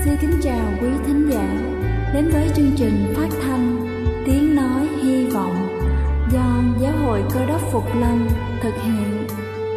Xin kính chào quý thính giả đến với chương trình phát thanh Tiếng Nói Hy Vọng do Giáo hội Cơ Đốc Phục Lâm thực hiện.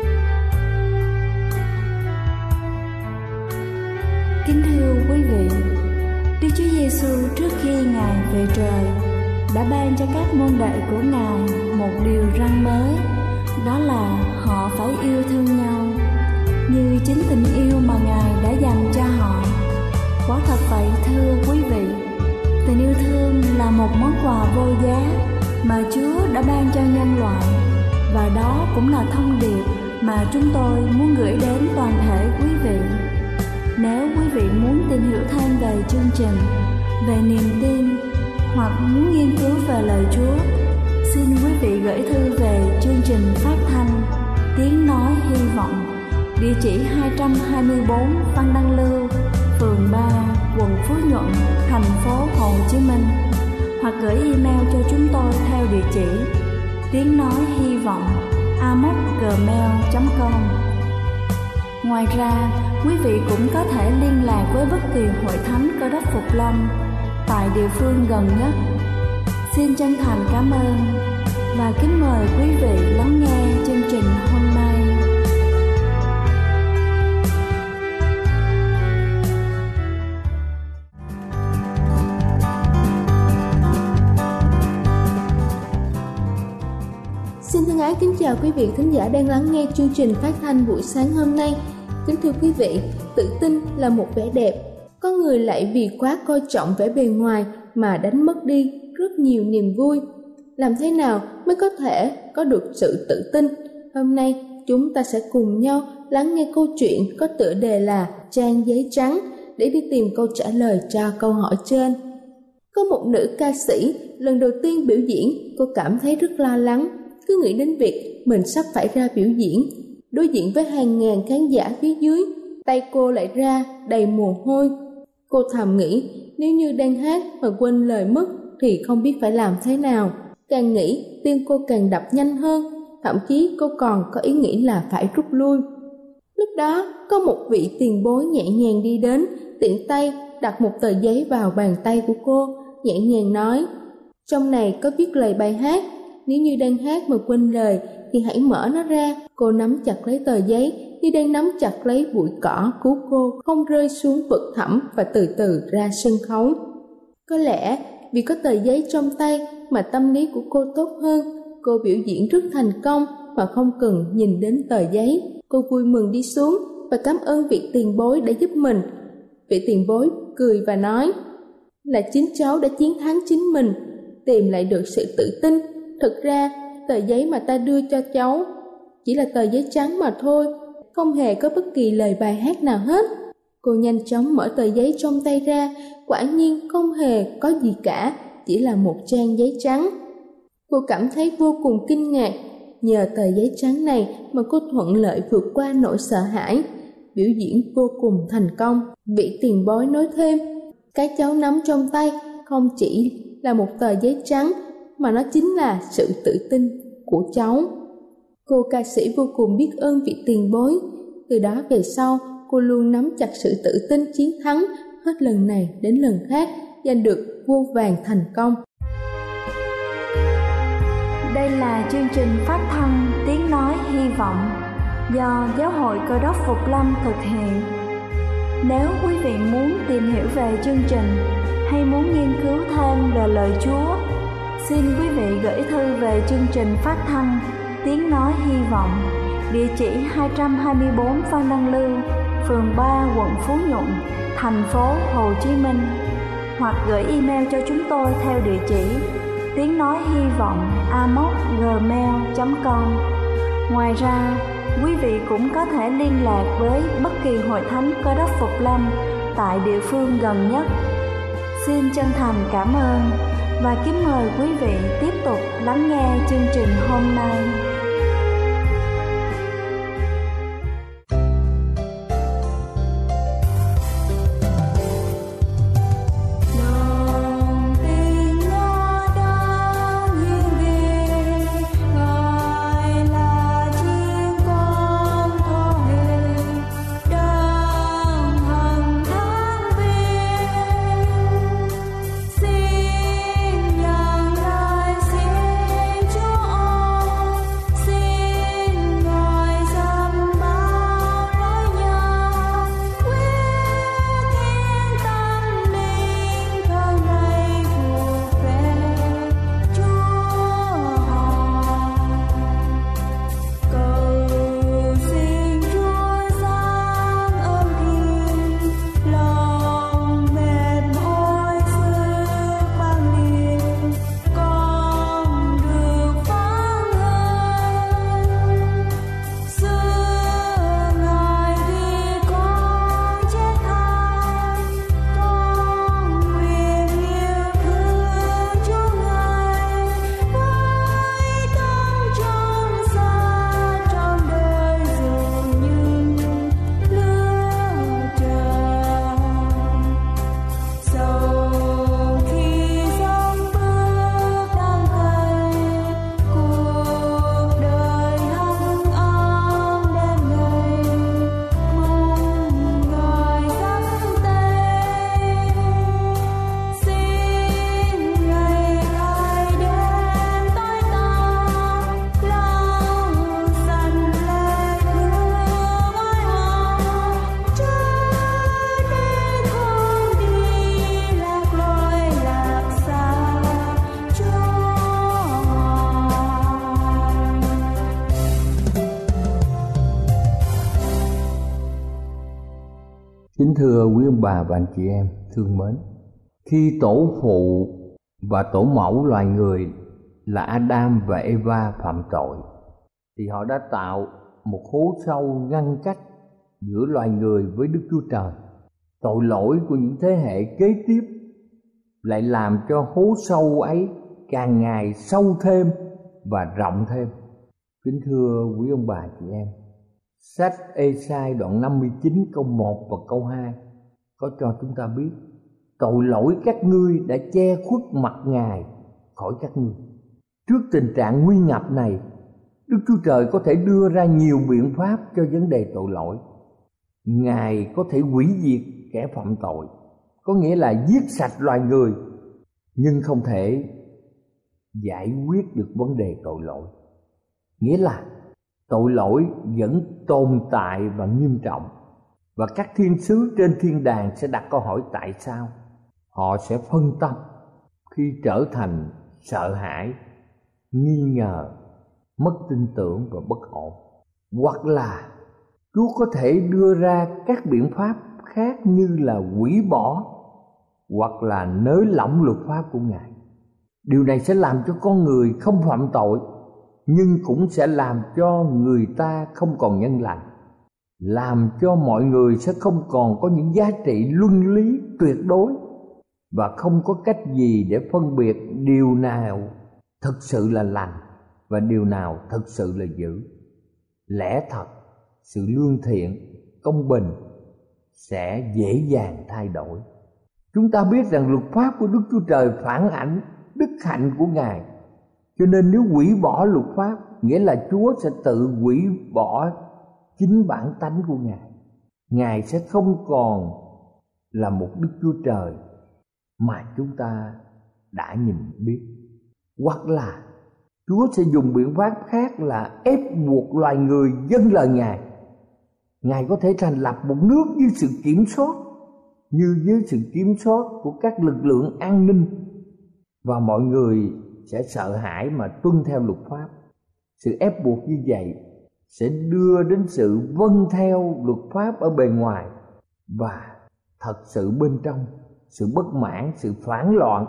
Kính thưa quý vị, Đức Chúa Giêsu trước khi Ngài về trời đã ban cho các môn đệ của Ngài một điều răn mới, đó là họ phải yêu thương nhau như chính tình yêu mà Ngài đã dành cho họ. Quả thật vậy thưa quý vị, tình yêu thương là một món quà vô giá mà Chúa đã ban cho nhân loại, và đó cũng là thông điệp mà chúng tôi muốn gửi đến toàn thể quý vị. Nếu quý vị muốn tìm hiểu thêm về chương trình, về niềm tin hoặc muốn nghiên cứu về lời Chúa, xin quý vị gửi thư về chương trình phát thanh Tiếng Nói Hy Vọng, địa chỉ 224 Văn Đăng Lưu, phường 3, quận Phú Nhuận, thành phố Hồ Chí Minh, hoặc gửi email cho chúng tôi theo địa chỉ tiếng nói hy vọng amos@gmail.com. Ngoài ra, quý vị cũng có thể liên lạc với bất kỳ hội thánh Cơ Đốc Phục Lâm tại địa phương gần nhất. Xin chân thành cảm ơn và kính mời quý vị lắng nghe chương trình hôm nay. Xin thân ái kính chào quý vị thính giả đang lắng nghe chương trình phát thanh buổi sáng hôm nay. Kính thưa quý vị, tự tin là một vẻ đẹp. Có người lại vì quá coi trọng vẻ bề ngoài mà đánh mất đi rất nhiều niềm vui. Làm thế nào mới có thể có được sự tự tin? Hôm nay chúng ta sẽ cùng nhau lắng nghe câu chuyện có tựa đề là Trang giấy trắng để đi tìm câu trả lời cho câu hỏi trên. Có một nữ ca sĩ lần đầu tiên biểu diễn, cô cảm thấy rất lo lắng. Cứ nghĩ đến việc mình sắp phải ra biểu diễn, đối diện với hàng ngàn khán giả phía dưới, tay cô lại ra đầy mồ hôi. Cô thầm nghĩ, nếu như đang hát mà quên lời mất thì không biết phải làm thế nào. Càng nghĩ, tim cô càng đập nhanh hơn, thậm chí cô còn có ý nghĩ là phải rút lui. Lúc đó, có một vị tiền bối nhẹ nhàng đi đến, tiện tay đặt một tờ giấy vào bàn tay của cô, nhẹ nhàng nói, trong này có viết lời bài hát. Nếu như đang hát mà quên lời thì hãy mở nó ra. Cô nắm chặt lấy tờ giấy như đang nắm chặt lấy bụi cỏ, cứu cô không rơi xuống vực thẳm và từ từ ra sân khấu. Có lẽ vì có tờ giấy trong tay mà tâm lý của cô tốt hơn. Cô biểu diễn rất thành công mà không cần nhìn đến tờ giấy. Cô vui mừng đi xuống và cảm ơn vị tiền bối đã giúp mình. Vị tiền bối cười và nói, là chính cháu đã chiến thắng chính mình, tìm lại được sự tự tin. Thực ra, tờ giấy mà ta đưa cho cháu chỉ là tờ giấy trắng mà thôi, không hề có bất kỳ lời bài hát nào hết. Cô nhanh chóng mở tờ giấy trong tay ra, quả nhiên không hề có gì cả, chỉ là một trang giấy trắng. Cô cảm thấy vô cùng kinh ngạc, nhờ tờ giấy trắng này mà cô thuận lợi vượt qua nỗi sợ hãi, biểu diễn vô cùng thành công. Vị tiền bối nói thêm, cái cháu nắm trong tay không chỉ là một tờ giấy trắng, mà nó chính là sự tự tin của cháu. Cô ca sĩ vô cùng biết ơn vị tiền bối. Từ đó về sau, cô luôn nắm chặt sự tự tin chiến thắng, hết lần này đến lần khác, giành được vô vàn thành công. Đây là chương trình phát thanh Tiếng Nói Hy Vọng do Giáo hội Cơ Đốc Phục Lâm thực hiện. Nếu quý vị muốn tìm hiểu về chương trình hay muốn nghiên cứu thêm về lời Chúa, xin quý vị gửi thư về chương trình phát thanh Tiếng Nói Hy Vọng, địa chỉ 224 Phan Đăng Lưu, phường 3, quận Phú Nhuận, thành phố Hồ Chí Minh, hoặc gửi email cho chúng tôi theo địa chỉ tiếng nói hy vọng amos@gmail.com. Ngoài ra, quý vị cũng có thể liên lạc với bất kỳ hội thánh Cơ Đốc Phục Lâm tại địa phương gần nhất. Xin chân thành cảm ơn và kính mời quý vị tiếp tục lắng nghe chương trình hôm nay. Hãy Kính thưa quý ông bà và anh chị em thương mến, khi tổ phụ và tổ mẫu loài người là Adam và Eva phạm tội, thì họ đã tạo một hố sâu ngăn cách giữa loài người với Đức Chúa Trời. Tội lỗi của những thế hệ kế tiếp lại làm cho hố sâu ấy càng ngày sâu thêm và rộng thêm. Kính thưa quý ông bà chị em, sách Ê-sai đoạn 59 câu 1 và câu 2 có cho chúng ta biết: tội lỗi các ngươi đã che khuất mặt Ngài khỏi các ngươi. Trước tình trạng nguy ngập này, Đức Chúa Trời có thể đưa ra nhiều biện pháp cho vấn đề tội lỗi. Ngài có thể hủy diệt kẻ phạm tội, có nghĩa là giết sạch loài người, nhưng không thể giải quyết được vấn đề tội lỗi. Nghĩa là tội lỗi vẫn tồn tại và nghiêm trọng, và các thiên sứ trên thiên đàng sẽ đặt câu hỏi tại sao. Họ sẽ phân tâm khi trở thành sợ hãi, nghi ngờ, mất tin tưởng và bất ổn. Hoặc là Chúa có thể đưa ra các biện pháp khác như là hủy bỏ hoặc là nới lỏng luật pháp của Ngài. Điều này sẽ làm cho con người không phạm tội, nhưng cũng sẽ làm cho người ta không còn nhân lành, làm cho mọi người sẽ không còn có những giá trị luân lý tuyệt đối, và không có cách gì để phân biệt điều nào thực sự là lành và điều nào thực sự là dữ. Lẽ thật, sự lương thiện, công bình sẽ dễ dàng thay đổi. Chúng ta biết rằng luật pháp của Đức Chúa Trời phản ảnh đức hạnh của Ngài, cho nên nếu hủy bỏ luật pháp, nghĩa là Chúa sẽ tự hủy bỏ chính bản tánh của Ngài. Ngài sẽ không còn là một Đức Chúa Trời mà chúng ta đã nhìn biết. Hoặc là Chúa sẽ dùng biện pháp khác là ép buộc loài người vâng lời Ngài. Ngài có thể thành lập một nước dưới sự kiểm soát, như dưới sự kiểm soát của các lực lượng an ninh, và mọi người sẽ sợ hãi mà tuân theo luật pháp. Sự ép buộc như vậy sẽ đưa đến sự vâng theo luật pháp ở bề ngoài, và thật sự bên trong, sự bất mãn, sự phản loạn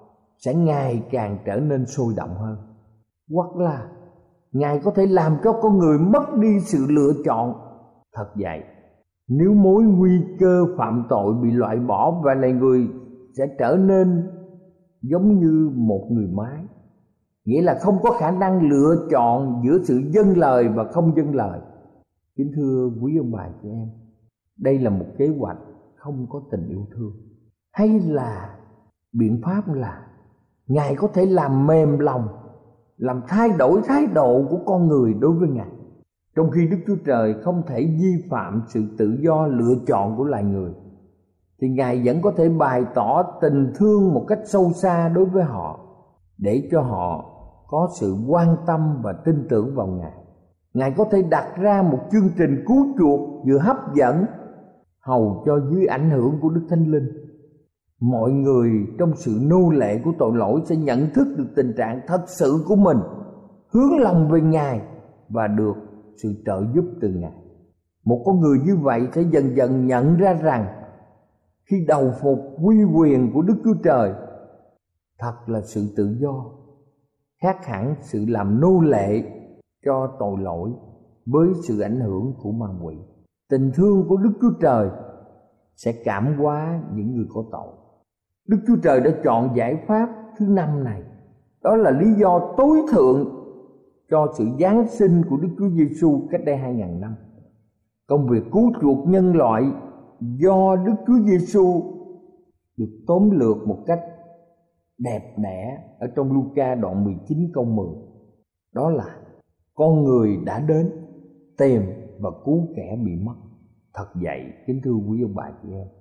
sẽ ngày càng trở nên sôi động hơn. Hoặc là Ngài có thể làm cho con người mất đi sự lựa chọn. Thật vậy, nếu mối nguy cơ phạm tội bị loại bỏ và loài người sẽ trở nên giống như một người máy, nghĩa là không có khả năng lựa chọn giữa sự vâng lời và không vâng lời. Kính thưa quý ông bà chị em, đây là một kế hoạch không có tình yêu thương, hay là biện pháp là Ngài có thể làm mềm lòng, làm thay đổi thái độ của con người đối với Ngài. Trong khi Đức Chúa Trời không thể vi phạm sự tự do lựa chọn của loài người, thì Ngài vẫn có thể bày tỏ tình thương một cách sâu xa đối với họ, để cho họ có sự quan tâm và tin tưởng vào Ngài. Ngài có thể đặt ra một chương trình cứu chuộc vừa hấp dẫn, hầu cho dưới ảnh hưởng của Đức Thánh Linh, mọi người trong sự nô lệ của tội lỗi sẽ nhận thức được tình trạng thật sự của mình, hướng lòng về Ngài và được sự trợ giúp từ Ngài. Một con người như vậy sẽ dần dần nhận ra rằng khi đầu phục uy quyền của Đức Chúa Trời, thật là sự tự do, khác hẳn sự làm nô lệ cho tội lỗi với sự ảnh hưởng của ma quỷ. Tình thương của Đức Chúa Trời sẽ cảm hóa những người có tội. Đức Chúa Trời đã chọn giải pháp thứ 5 này. Đó là lý do tối thượng cho sự giáng sinh của Đức Chúa Giêsu cách đây 2000 năm. Công việc cứu chuộc nhân loại do Đức Chúa Giêsu được tóm lược một cách đẹp đẽ ở trong Luca đoạn 19 câu 10. Đó là con người đã đến tìm và cứu kẻ bị mất. Thật vậy, kính thưa quý ông bà chị em,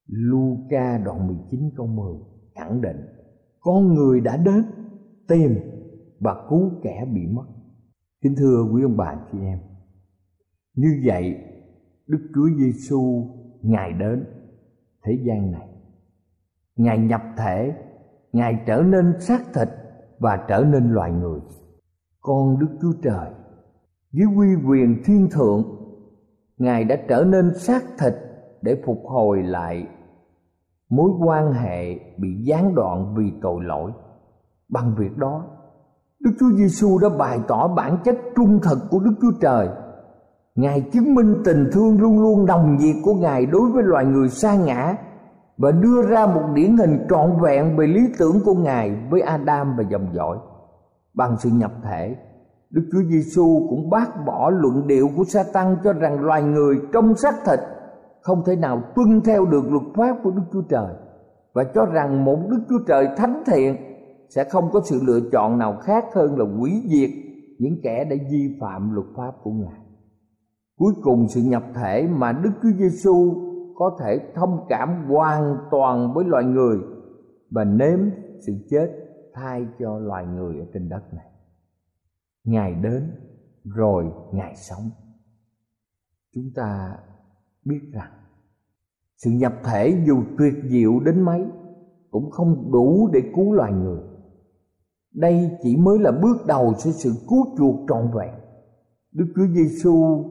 Luca đoạn 19 câu 10 khẳng định con người đã đến tìm và cứu kẻ bị mất. Kính thưa quý ông bà chị em, như vậy Đức Chúa Giêsu Ngài đến thế gian này, Ngài nhập thể, Ngài trở nên xác thịt và trở nên loài người. Con Đức Chúa Trời dưới uy quyền thiên thượng, Ngài đã trở nên xác thịt để phục hồi lại mối quan hệ bị gián đoạn vì tội lỗi. Bằng việc đó, Đức Chúa Giêsu đã bày tỏ bản chất trung thực của Đức Chúa Trời. Ngài chứng minh tình thương luôn luôn nồng nhiệt của Ngài đối với loài người sa ngã và đưa ra một điển hình trọn vẹn về lý tưởng của Ngài với Adam và dòng dõi. Bằng sự nhập thể, Đức Chúa Giêsu cũng bác bỏ luận điệu của Sa-tan cho rằng loài người trong xác thịt không thể nào tuân theo được luật pháp của Đức Chúa Trời, và cho rằng một Đức Chúa Trời thánh thiện sẽ không có sự lựa chọn nào khác hơn là hủy diệt những kẻ đã vi phạm luật pháp của Ngài. Cuối cùng, sự nhập thể mà Đức Chúa Giêsu có thể thông cảm hoàn toàn với loài người và nếm sự chết thay cho loài người ở trên đất này. Ngài đến rồi Ngài sống. Chúng ta biết rằng sự nhập thể dù tuyệt diệu đến mấy cũng không đủ để cứu loài người. Đây chỉ mới là bước đầu cho sự cứu chuộc trọn vẹn. Đức Chúa Giêsu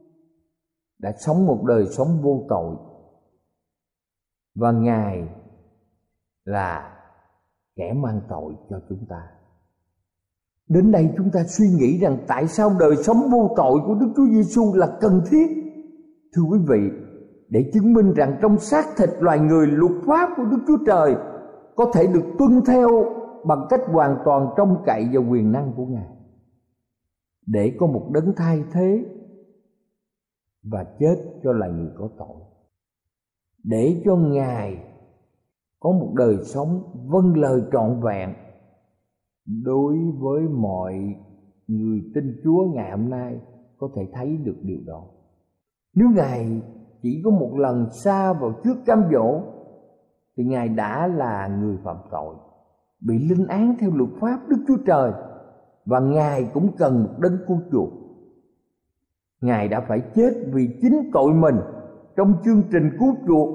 đã sống một đời sống vô tội, và Ngài là kẻ mang tội cho chúng ta. Đến đây chúng ta suy nghĩ rằng tại sao đời sống vô tội của Đức Chúa Giêsu là cần thiết. Thưa quý vị, để chứng minh rằng trong xác thịt loài người, luật pháp của Đức Chúa Trời có thể được tuân theo bằng cách hoàn toàn trông cậy vào quyền năng của Ngài, để có một đấng thay thế và chết cho loài người có tội, để cho Ngài có một đời sống vâng lời trọn vẹn. Đối với mọi người tin Chúa ngày hôm nay có thể thấy được điều đó. Nếu Ngài chỉ có một lần sa vào trước cám dỗ thì Ngài đã là người phạm tội, bị linh án theo luật pháp Đức Chúa Trời, và Ngài cũng cần một đấng cứu chuộc. Ngài đã phải chết vì chính tội mình trong chương trình cứu chuộc.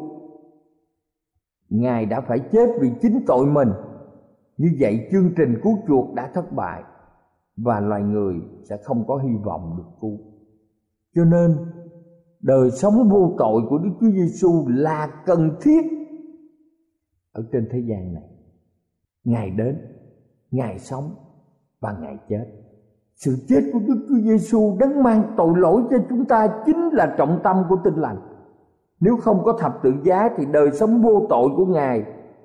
Ngài đã phải chết vì chính tội mình. Như vậy chương trình cứu chuộc đã thất bại và loài người sẽ không có hy vọng được cứu. Cho nên đời sống vô tội của Đức Chúa Giêsu là cần thiết ở trên thế gian này. Ngài đến, Ngài sống và Ngài chết. Sự chết của Đức Chúa Giêsu đấng mang tội lỗi cho chúng ta chính là trọng tâm của Tin Lành. Nếu không có thập tự giá thì đời sống vô tội của Ngài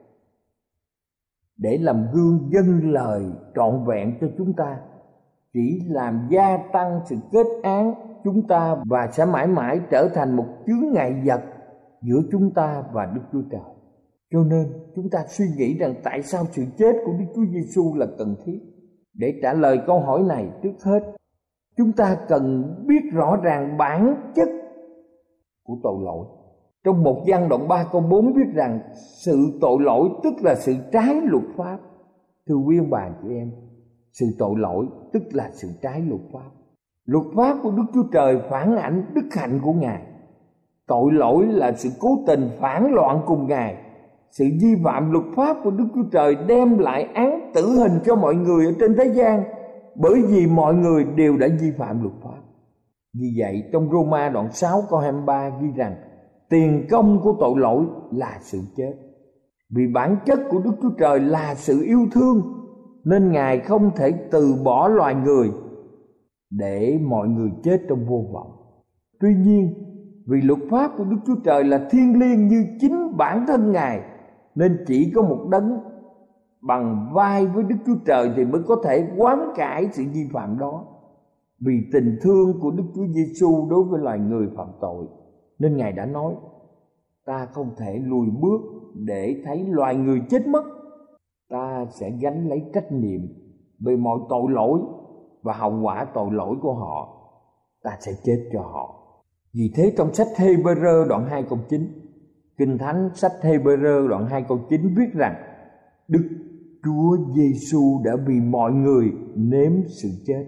để làm gương dâng lời trọn vẹn cho chúng ta chỉ làm gia tăng sự kết án chúng ta, và sẽ mãi mãi trở thành một chướng ngại vật giữa chúng ta và Đức Chúa Trời. Cho nên chúng ta suy nghĩ rằng tại sao sự chết của Đức Chúa Giêsu là cần thiết. Để trả lời câu hỏi này, trước hết chúng ta cần biết rõ ràng bản chất của tội lỗi. Trong 1 Giăng đoạn 3 câu 4 viết rằng sự tội lỗi tức là sự trái luật pháp. Thưa quý ông bà chị em, sự tội lỗi tức là sự trái luật pháp. Luật pháp của Đức Chúa Trời phản ảnh đức hạnh của Ngài. Tội lỗi là sự cố tình phản loạn cùng Ngài. Sự vi phạm luật pháp của Đức Chúa Trời đem lại án tử hình cho mọi người ở trên thế gian, bởi vì mọi người đều đã vi phạm luật pháp. Vì vậy trong Roma đoạn 6 câu 23 ghi rằng tiền công của tội lỗi là sự chết. Vì bản chất của Đức Chúa Trời là sự yêu thương, nên Ngài không thể từ bỏ loài người để mọi người chết trong vô vọng. Tuy nhiên, vì luật pháp của Đức Chúa Trời là thiêng liêng như chính bản thân Ngài, nên chỉ có một đấng bằng vai với Đức Chúa Trời thì mới có thể hoán cải sự vi phạm đó. Vì tình thương của Đức Chúa Giêsu đối với loài người phạm tội, nên Ngài đã nói: ta không thể lùi bước để thấy loài người chết mất. Ta sẽ gánh lấy trách nhiệm về mọi tội lỗi và hậu quả tội lỗi của họ. Ta sẽ chết cho họ. Vì thế trong sách Hê-bơ-rơ đoạn 2 câu 9, Kinh Thánh sách Hê-bơ-rơ đoạn 2 câu 9 viết rằng Đức Chúa Giêsu đã vì mọi người nếm sự chết.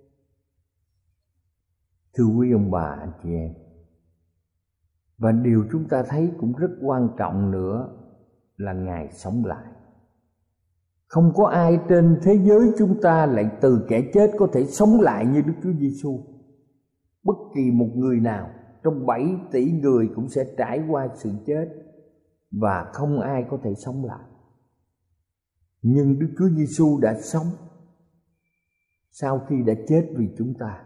Thưa quý ông bà anh chị em, và điều chúng ta thấy cũng rất quan trọng nữa là Ngài sống lại. Không có ai trên thế giới chúng ta lại từ kẻ chết có thể sống lại như Đức Chúa Giêsu. Bất kỳ một người nào trong 7 tỷ người cũng sẽ trải qua sự chết và không ai có thể sống lại. Nhưng Đức Chúa Giêsu đã sống sau khi đã chết vì chúng ta.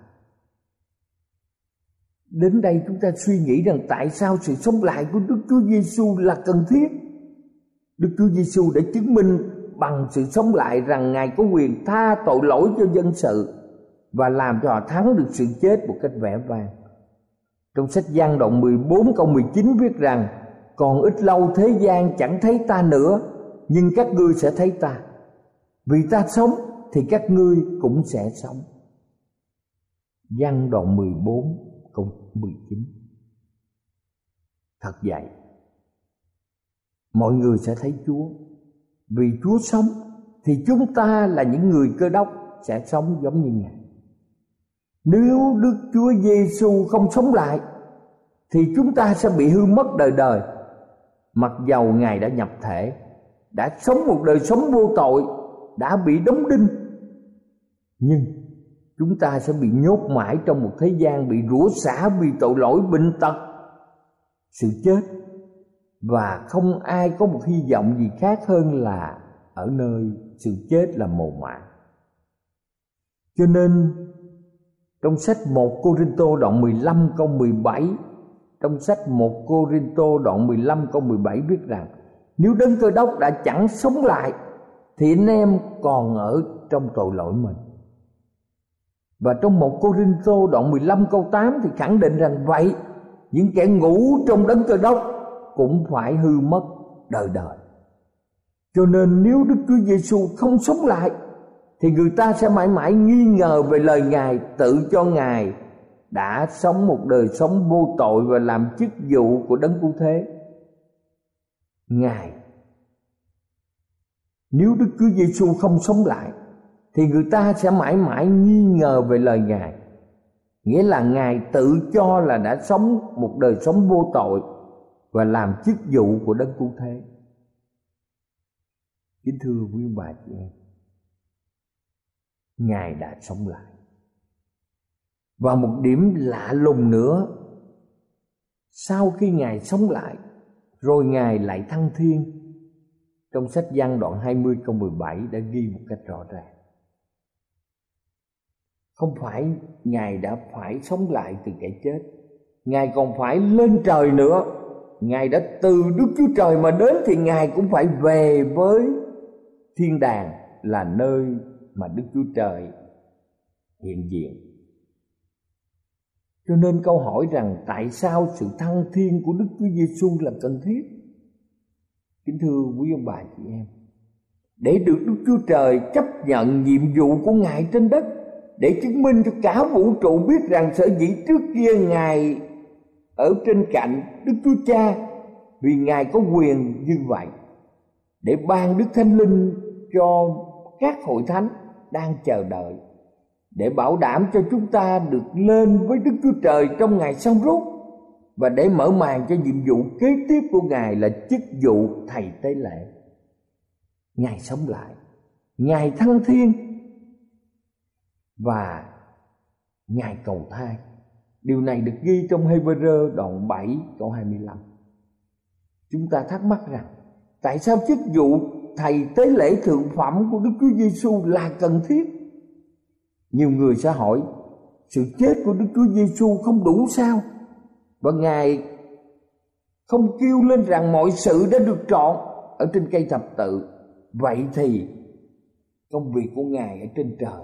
Đến đây chúng ta suy nghĩ rằng tại sao sự sống lại của Đức Chúa Giêsu là cần thiết. Đức Chúa Giêsu đã chứng minh bằng sự sống lại rằng Ngài có quyền tha tội lỗi cho dân sự và làm cho họ thắng được sự chết một cách vẻ vang. Trong sách Giăng đoạn 14 câu 19 viết rằng: còn ít lâu thế gian chẳng thấy ta nữa, nhưng các ngươi sẽ thấy ta. Vì ta sống thì các ngươi cũng sẽ sống. Giăng đoạn 14 câu 19. Thật vậy, mọi người sẽ thấy Chúa. Vì Chúa sống thì chúng ta là những người Cơ Đốc sẽ sống giống như Ngài. Nếu Đức Chúa Giêsu không sống lại thì chúng ta sẽ bị hư mất đời đời. Mặc dầu Ngài đã nhập thể, đã sống một đời sống vô tội, đã bị đóng đinh, nhưng chúng ta sẽ bị nhốt mãi trong một thế gian bị rủa xả vì tội lỗi, bệnh tật, sự chết, và không ai có một hy vọng gì khác hơn là ở nơi sự chết là mồ mả. Cho nên trong sách 1 Cô-rinh-tô đoạn 15 câu 17, trong sách 1 Cô-rinh-tô đoạn 15 câu 17 viết rằng: nếu Đấng Cơ Đốc đã chẳng sống lại thì anh em còn ở trong tội lỗi mình. Và trong 1 Cô-rinh-tô đoạn 15 câu 8 thì khẳng định rằng vậy những kẻ ngủ trong Đấng Cơ Đốc cũng phải hư mất đời đời. Cho nên nếu Đức Chúa Giêsu không sống lại thì người ta sẽ mãi mãi nghi ngờ về lời Ngài, tự cho Ngài đã sống một đời sống vô tội và làm chức vụ của Đấng Cứu Thế. Nếu Đức Chúa Giêsu không sống lại thì người ta sẽ mãi mãi nghi ngờ về lời Ngài, nghĩa là Ngài tự cho là đã sống một đời sống vô tội và làm chức vụ của Đấng Cứu Thế. Kính thưa quý bà chị em, Ngài đã sống lại. Và một điểm lạ lùng nữa, sau khi Ngài sống lại rồi Ngài lại thăng thiên. Trong sách Giăng đoạn 20 câu 17 đã ghi một cách rõ ràng. Không phải Ngài đã phải sống lại từ kẻ chết, Ngài còn phải lên trời nữa. Ngài đã từ Đức Chúa Trời mà đến thì Ngài cũng phải về với thiên đàng, là nơi mà Đức Chúa Trời hiện diện. Cho nên câu hỏi rằng tại sao sự thăng thiên của Đức Chúa Giêsu là cần thiết? Kính thưa quý ông bà chị em, để được Đức Chúa Trời chấp nhận nhiệm vụ của Ngài trên đất, để chứng minh cho cả vũ trụ biết rằng sở dĩ trước kia Ngài ở trên cạnh Đức Chúa Cha vì Ngài có quyền như vậy, để ban Đức Thánh Linh cho các hội thánh đang chờ đợi, để bảo đảm cho chúng ta được lên với Đức Chúa Trời trong ngày xong rút, và để mở màn cho nhiệm vụ kế tiếp của Ngài là chức vụ thầy tế lễ. Ngài sống lại, Ngài thăng thiên và Ngài cầu thai. Điều này được ghi trong Hê-bơ-rơ đoạn 7 câu 25. Chúng ta thắc mắc rằng tại sao chức vụ thầy tế lễ thượng phẩm của Đức Chúa Giêsu là cần thiết? Nhiều người sẽ hỏi, sự chết của Đức Chúa Giêsu không đủ sao? Và Ngài không kêu lên rằng mọi sự đã được trọn ở trên cây thập tự. Vậy thì công việc của Ngài ở trên trời,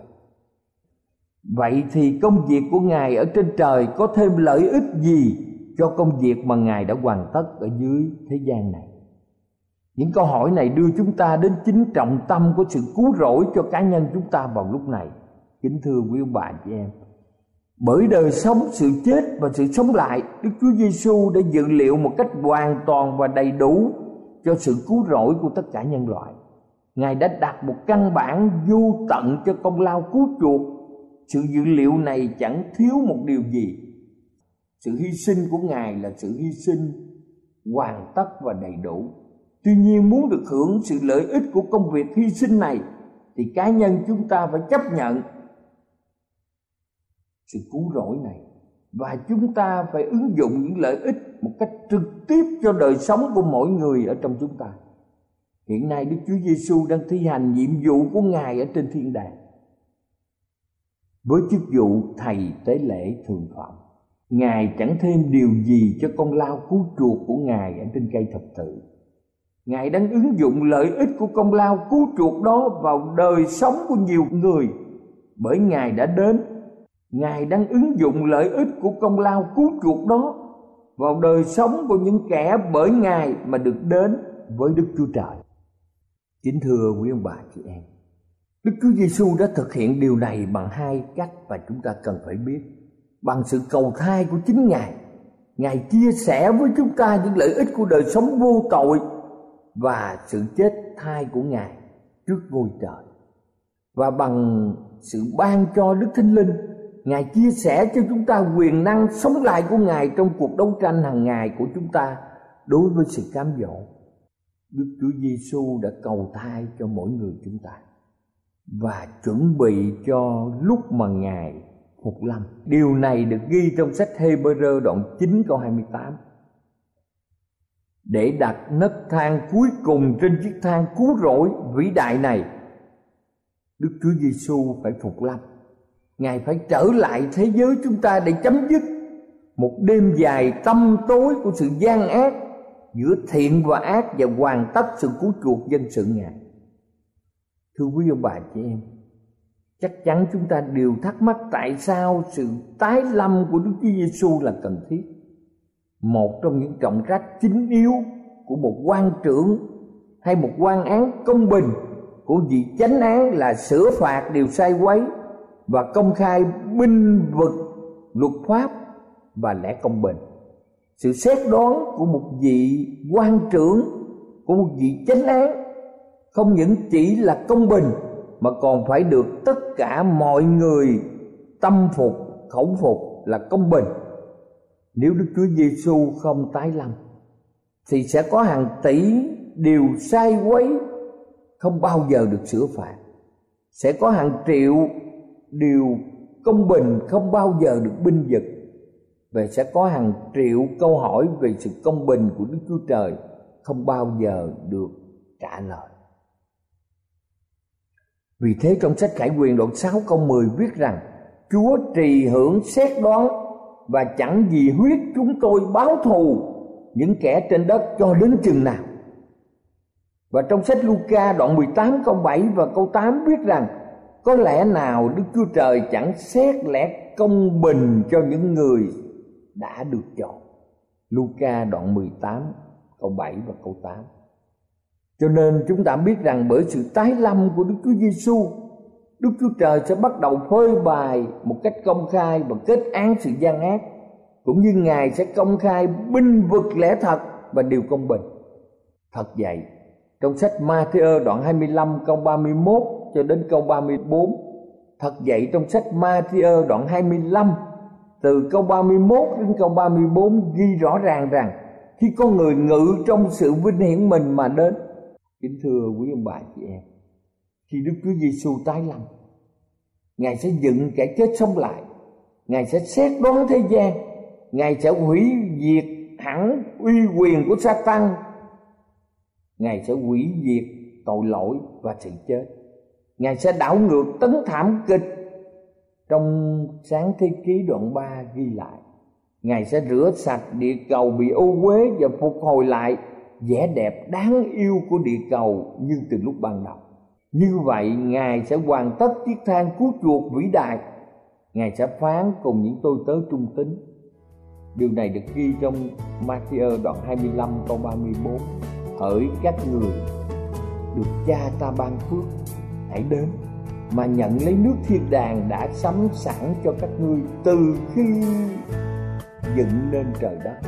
có thêm lợi ích gì cho công việc mà Ngài đã hoàn tất ở dưới thế gian này? Những câu hỏi này đưa chúng ta đến chính trọng tâm của sự cứu rỗi cho cá nhân chúng ta vào lúc này. Kính thưa quý ông bà chị em, bởi đời sống, sự chết và sự sống lại, Đức Chúa Giêsu đã dự liệu một cách hoàn toàn và đầy đủ cho sự cứu rỗi của tất cả nhân loại. Ngài đã đặt một căn bản vô tận cho công lao cứu chuộc. Sự dự liệu này chẳng thiếu một điều gì. Sự hy sinh của Ngài là sự hy sinh hoàn tất và đầy đủ. Tuy nhiên, muốn được hưởng sự lợi ích của công việc hy sinh này thì cá nhân chúng ta phải chấp nhận sự cứu rỗi này và chúng ta phải ứng dụng những lợi ích một cách trực tiếp cho đời sống của mỗi người ở trong chúng ta. Hiện nay Đức Chúa Giêsu đang thi hành nhiệm vụ của Ngài ở trên thiên đàng với chức vụ thầy tế lễ thường phẩm. Ngài chẳng thêm điều gì cho công lao cứu chuộc của Ngài ở trên cây thập tự. Ngài đang ứng dụng lợi ích của công lao cứu chuộc đó vào đời sống của nhiều người bởi Ngài đã đến. Ngài đang ứng dụng lợi ích của công lao cứu chuộc đó vào đời sống của những kẻ bởi Ngài mà được đến với Đức Chúa Trời. Kính thưa quý ông bà chị em, Đức Chúa Giêsu đã thực hiện điều này bằng hai cách mà chúng ta cần phải biết. Bằng sự cầu thay của chính Ngài, Ngài chia sẻ với chúng ta những lợi ích của đời sống vô tội và sự chết thay của Ngài trước ngôi trời. Và bằng sự ban cho Đức Thánh Linh, Ngài chia sẻ cho chúng ta quyền năng sống lại của Ngài trong cuộc đấu tranh hàng ngày của chúng ta đối với sự cám dỗ. Đức Chúa Giêsu đã cầu thay cho mỗi người chúng ta và chuẩn bị cho lúc mà Ngài phục lâm. Điều này được ghi trong sách Hê-bơ-rơ đoạn 9 câu 28. Để đặt nấc thang cuối cùng trên chiếc thang cứu rỗi vĩ đại này, Đức Chúa Giêsu phải phục lâm. Ngài phải trở lại thế giới chúng ta để chấm dứt một đêm dài tăm tối của sự gian ác giữa thiện và ác và hoàn tất sự cứu chuộc dân sự Ngài. Thưa quý ông bà chị em, chắc chắn chúng ta đều thắc mắc tại sao sự tái lâm của Đức Chúa Giêsu là cần thiết. Một trong những trọng trách chính yếu của một quan trưởng hay một quan án công bình của vị chánh án là sửa phạt điều sai quấy và công khai binh vực luật pháp và lẽ công bình. Sự xét đoán của một vị quan trưởng, của một vị chánh án không những chỉ là công bình mà còn phải được tất cả mọi người tâm phục, khẩu phục là công bình. Nếu Đức Chúa Giêsu không tái lâm thì sẽ có hàng tỷ điều sai quấy không bao giờ được sửa phạt, sẽ có hàng triệu điều công bình không bao giờ được binh vực, và sẽ có hàng triệu câu hỏi về sự công bình của Đức Chúa Trời không bao giờ được trả lời. Vì thế trong sách Khải Huyền đoạn 6 câu 10 viết rằng: Chúa trì hưởng xét đoán và chẳng vì huyết chúng tôi báo thù những kẻ trên đất cho đến chừng nào. Và trong sách Luca đoạn 18 câu 7 và câu 8 viết rằng: Có lẽ nào Đức Chúa Trời chẳng xét lẽ công bình cho những người đã được chọn. Luca đoạn 18 câu 7 và câu 8. Cho nên chúng ta biết rằng bởi sự tái lâm của Đức Chúa Giêsu, Đức Chúa Trời sẽ bắt đầu phơi bày một cách công khai và kết án sự gian ác, cũng như Ngài sẽ công khai binh vực lẽ thật và điều công bình. Thật vậy, trong sách Ma-thi-ơ đoạn 25 câu 31 cho đến câu 34, thật vậy trong sách Ma-thi-ơ đoạn 25 từ câu 31 đến câu 34 ghi rõ ràng rằng khi con người ngự trong sự vinh hiển mình mà đến. Kính thưa quý ông bà chị em, khi Đức Chúa Giêsu tái lâm, Ngài sẽ dựng kẻ chết sống lại, Ngài sẽ xét đoán thế gian, Ngài sẽ hủy diệt hẳn uy quyền của Sa-tan, Ngài sẽ hủy diệt tội lỗi và sự chết, Ngài sẽ đảo ngược tấn thảm kịch. Trong Sáng Thế Ký đoạn 3 ghi lại, Ngài sẽ rửa sạch địa cầu bị ô uế và phục hồi lại vẻ đẹp đáng yêu của địa cầu như từ lúc ban đầu. Như vậy Ngài sẽ hoàn tất chiếc thang cứu chuộc vĩ đại. Ngài sẽ phán cùng những tôi tớ trung tín. Điều này được ghi trong Ma-thi-ơ đoạn 25 câu 34. Hỡi các người được Cha ta ban phước, hãy đến mà nhận lấy nước thiên đàng đã sắm sẵn cho các ngươi từ khi dựng nên trời đất.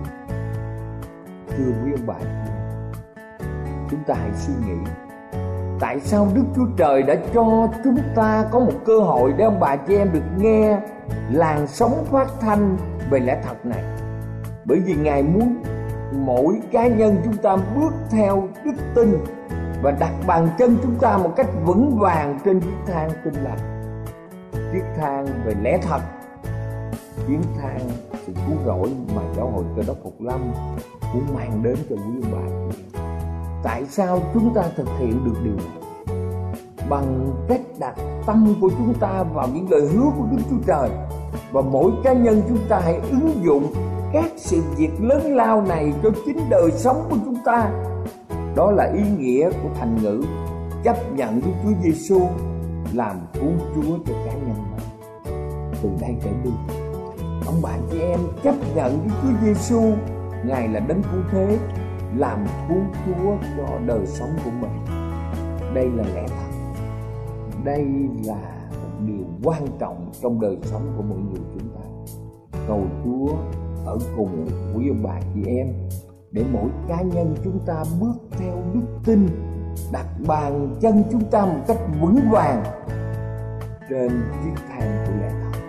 Thưa quý ông bà, chúng ta hãy suy nghĩ tại sao Đức Chúa Trời đã cho chúng ta có một cơ hội để ông bà chị em được nghe làn sóng phát thanh về lẽ thật này. Bởi vì Ngài muốn mỗi cá nhân chúng ta bước theo đức tin và đặt bàn chân chúng ta một cách vững vàng trên chiếc thang tin lành, chiếc thang về lẽ thật, tiếng than sự cứu rỗi mà giáo hội Cơ Đốc Phục Lâm muốn mang đến cho quý ông bà. Tại sao chúng ta thực hiện được điều này? Bằng cách đặt tâm của chúng ta vào những lời hứa của Đức Chúa Trời, và mỗi cá nhân chúng ta hãy ứng dụng các sự việc lớn lao này cho chính đời sống của chúng ta. Đó là ý nghĩa của thành ngữ chấp nhận Đức Chúa Giêsu làm cứu Chúa cho cá nhân mình. Từ đây trở đi, ông bà chị em chấp nhận Đức Chúa Giêsu, Ngài là đấng cứu thế, làm cứu Chúa cho đời sống của mình. Đây là lẽ thật. Đây là một điều quan trọng trong đời sống của mỗi người chúng ta. Cầu Chúa ở cùng quý ông bà chị em để mỗi cá nhân chúng ta bước theo đức tin, đặt bàn chân chúng ta một cách vững vàng trên chiếc thang của lẽ thật.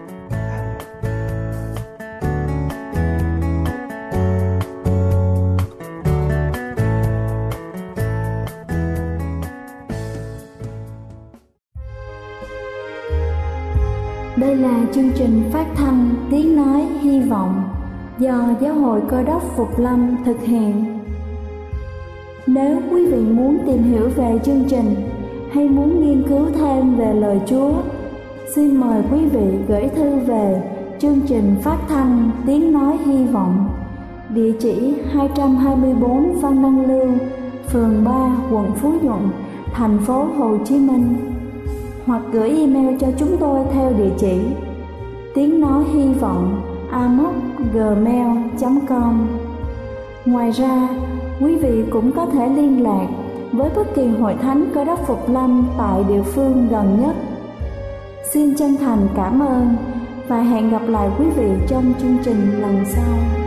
Đây là chương trình phát thanh Tiếng Nói Hy Vọng do Giáo hội Cơ Đốc Phục Lâm thực hiện. Nếu quý vị muốn tìm hiểu về chương trình hay muốn nghiên cứu thêm về lời Chúa, xin mời quý vị gửi thư về chương trình phát thanh Tiếng Nói Hy Vọng, địa chỉ 224 Phan Đăng Lưu, phường 3, quận Phú Nhuận, thành phố Hồ Chí Minh, hoặc gửi email cho chúng tôi theo địa chỉ tiếng nói hy vọng amos@gmail.com. Ngoài ra, quý vị cũng có thể liên lạc với bất kỳ hội thánh Cơ Đốc Phục Lâm tại địa phương gần nhất. Xin chân thành cảm ơn và hẹn gặp lại quý vị trong chương trình lần sau.